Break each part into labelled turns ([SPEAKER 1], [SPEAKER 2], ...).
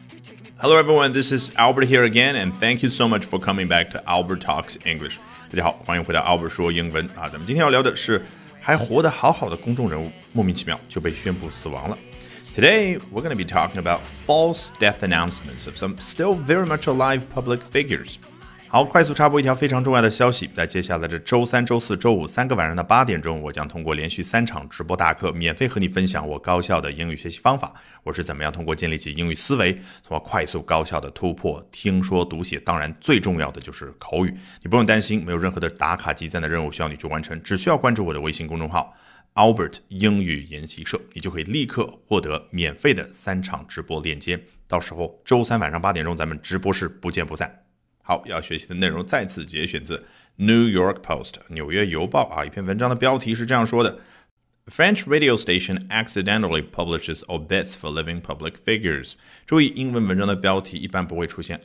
[SPEAKER 1] Hello everyone, this is Albert here again, and thank you so much for coming back to Albert Talks English. 大家好，欢迎回到 Albert 说英文啊。咱们今天要聊的是还活得好好的公众人物，莫名其妙就被宣布死亡了。Today, we're going to be talking about false death announcements of some still very much alive public figures. 好，快速插播一条非常重要的消息，在接下来的周三、周四、周五3个晚上的8点钟，我将通过连续3场直播大课，免费和你分享我高效的英语学习方法。我是怎么样通过建立起英语思维，从而快速高效的突破听说读写，当然最重要的就是口语。你不用担心，没有任何的打卡积赞的任务需要你去完成，只需要关注我的微信公众号Albert 英语研习社，你就可以立刻获得免费的3场直播链接。到时候周三晚上8点钟，咱们直播室不见不散。好，要学习的内容再次节选自 New York Post 纽约邮报啊，一篇文章的标题是这样说的 French radio station accidentally publishes obits for living public figures。 注意，英文文章的标题一般不会出现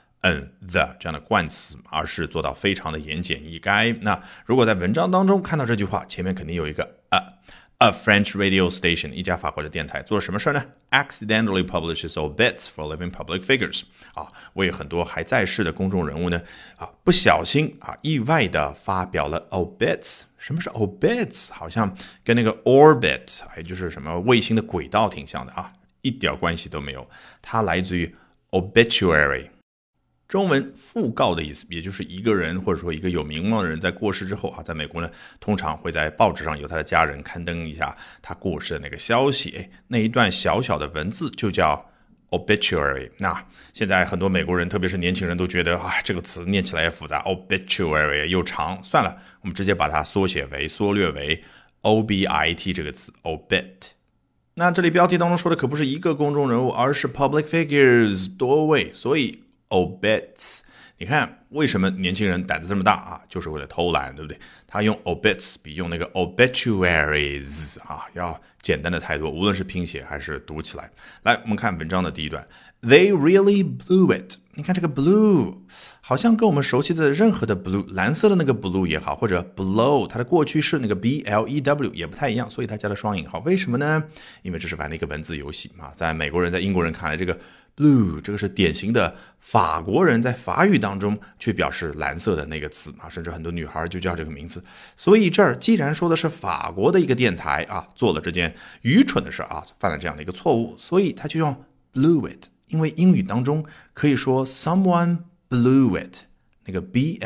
[SPEAKER 1] the 这样的冠词，而是做到非常的言简意赅。那如果在文章当中看到这句话，前面肯定有一个A French radio station 一家法国的电台做了什么事呢？ Accidentally publishes obits for living public figures 为很多还在世的公众人物呢不小心意外的发表了 obits。 什么是 obits？ 好像跟那个 orbit 也就是什么卫星的轨道挺像的一点关系都没有。它来自于 obituary，中文讣告的意思，也就是一个人或者说一个有名望的人在过世之后在美国呢，通常会在报纸上有他的家人刊登一下他过世的那个消息，那一段小小的文字就叫 obituary。 那现在很多美国人特别是年轻人都觉得这个词念起来也复杂， obituary 又长，算了，我们直接把它缩略为 obit 这个词 obit。那这里标题当中说的可不是一个公众人物，而是 public figures 多位，所以obits， 你看为什么年轻人胆子这么大就是为了偷懒，对不对？他用 obits 比用那个 obituaries要简单的太多，无论是拼写还是读起来。来，我们看文章的第一段 They really blew it。 你看这个 blue 好像跟我们熟悉的任何的 blue， 蓝色的那个 blue 也好，或者 blow 它的过去式那个 blew 也不太一样，所以它加了双引号。为什么呢？因为这是玩了一个文字游戏在美国人在英国人看来，这个blue 这个是典型的法国人在法语当中去表示蓝色的那个词甚至很多女孩就叫这个名字。所以这儿既然说的是法国的一个电台做了这件愚蠢的事犯了这样的一个错误，所以他就用 blew it。 因为英语当中可以说 someone blew it， 那个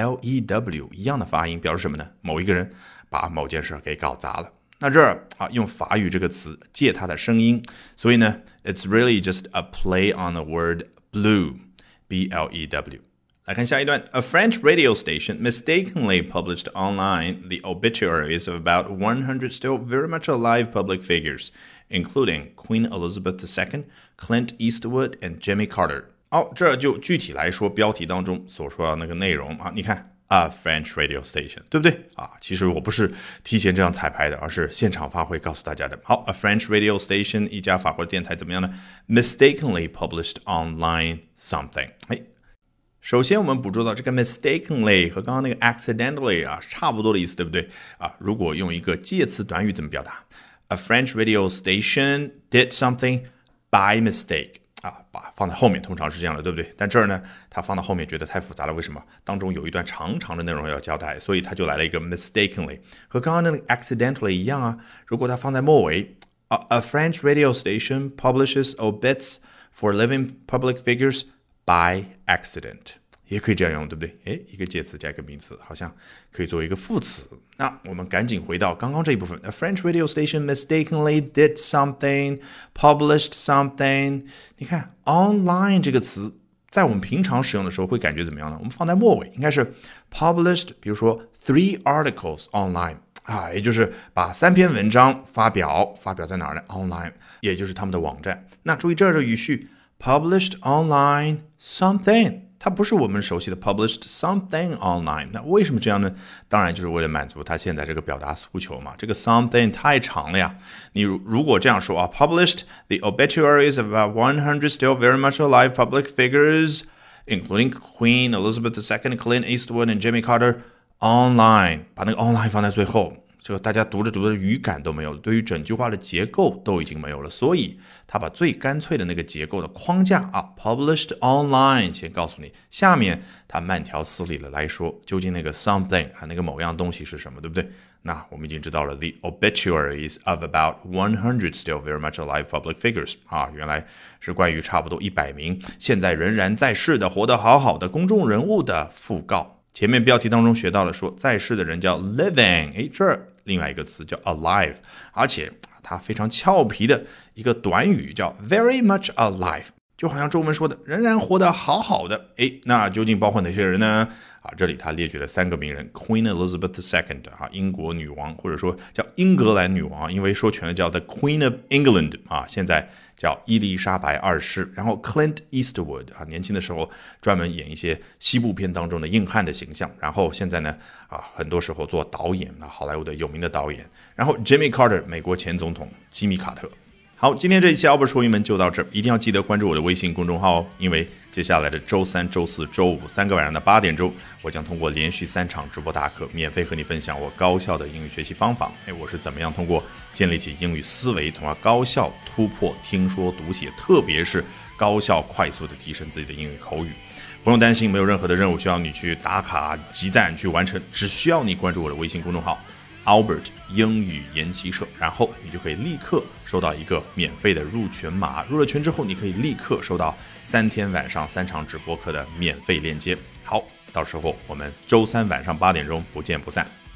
[SPEAKER 1] blew 一样的发音表示什么呢？某一个人把某件事给搞砸了。那这儿用法语这个词借它的声音，所以呢 it's really just a play on the word blew B-L-E-W。 来看下一段 A French radio station mistakenly published online the obituaries of about 100 still very much alive public figures, including Queen Elizabeth II, Clint Eastwood, and Jimmy Carter。 这就具体来说标题当中所说的那个内容你看A French radio station， 对不对其实我不是提前这样彩排的，而是现场发挥告诉大家的。好 A French radio station 一家法国电台怎么样呢？ Mistakenly published online something。 首先我们捕捉到这个 mistakenly 和刚刚那个 accidentally 差不多的意思，对不对如果用一个介词短语怎么表达？ A French radio station did something by mistake，把放在后面通常是这样的，对不对？但这儿呢，他放到后面觉得太复杂了，为什么？当中有一段长长的内容要交代，所以他就来了一个 mistakenly， 和刚刚那个 accidentally 一样如果他放在末尾A French radio station publishes obits for living public figures by accident， 也可以这样用，对不对？一个介词加一个名词，好像可以作为一个副词。那我们赶紧回到刚刚这一部分 A French radio station mistakenly did something, published something。 你看 online 这个词在我们平常使用的时候会感觉怎么样呢？我们放在末尾应该是 published， 比如说 3 articles online也就是把3篇文章发表在哪儿呢？ online， 也就是他们的网站。那注意这儿的语序 published online something，它不是我们熟悉的 published something online。 那为什么这样呢？当然就是为了满足它现在这个表达诉求嘛。这个 something 太长了呀，你如果这样说published the obituaries of about 100 still very much alive public figures including Queen Elizabeth II, Clint Eastwood and Jimmy Carter online， 把那个 online 放在最后， 这个大家读着读着语感都没有了，对于整句话的结构都已经没有了，所以他把最干脆的那个结构的框架啊 published online 先告诉你，下面他慢条斯理的来说，究竟那个 something 啊那个某样东西是什么，对不对？那我们已经知道了 the obituaries of about 100 still very much alive public figures 啊，原来是关于差不多100名现在仍然在世的活得好好的公众人物的讣告。前面标题当中学到了说在世的人叫 living， 这儿另外一个词叫 alive， 而且它非常俏皮的一个短语叫 very much alive， 就好像中文说的仍然活得好好的。那究竟包括哪些人呢？这里他列举了3个名人 Queen Elizabeth II 英国女王，或者说叫英格兰女王，因为说全了叫 The Queen of England 现在叫伊丽莎白2世，然后 Clint Eastwood 年轻的时候专门演一些西部片当中的硬汉的形象，然后现在呢很多时候做导演好莱坞的有名的导演，然后 Jimmy Carter 美国前总统吉米卡特。好，今天这一期 Albert 说英文就到这儿，一定要记得关注我的微信公众号因为接下来的周3、周4、周53个晚上的8点钟，我将通过连续3场直播大课，免费和你分享我高效的英语学习方法。我是怎么样通过建立起英语思维，从而高效突破听说读写，特别是高效快速的提升自己的英语口语。不用担心，没有任何的任务需要你去打卡集赞去完成，只需要你关注我的微信公众号Albert 英语研习社，然后你就可以立刻收到一个免费的入群码，入了群之后你可以立刻收到3天晚上3场直播课的免费链接。好，到时候我们周3晚上8点钟不见不散。